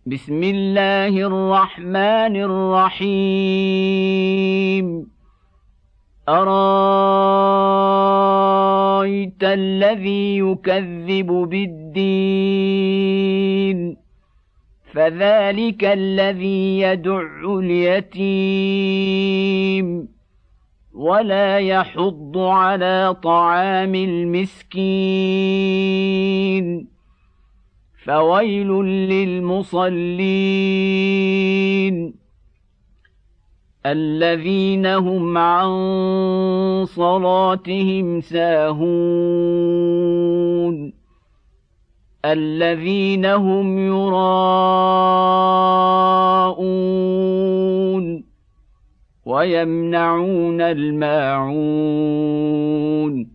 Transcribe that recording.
بسم الله الرحمن الرحيم أرايت الذي يكذب بالدين فذلك الذي يدع اليتيم ولا يحض على طعام المسكين فويل للمصلين الذين هم عن صلاتهم ساهون الذين هم يراءون ويمنعون الماعون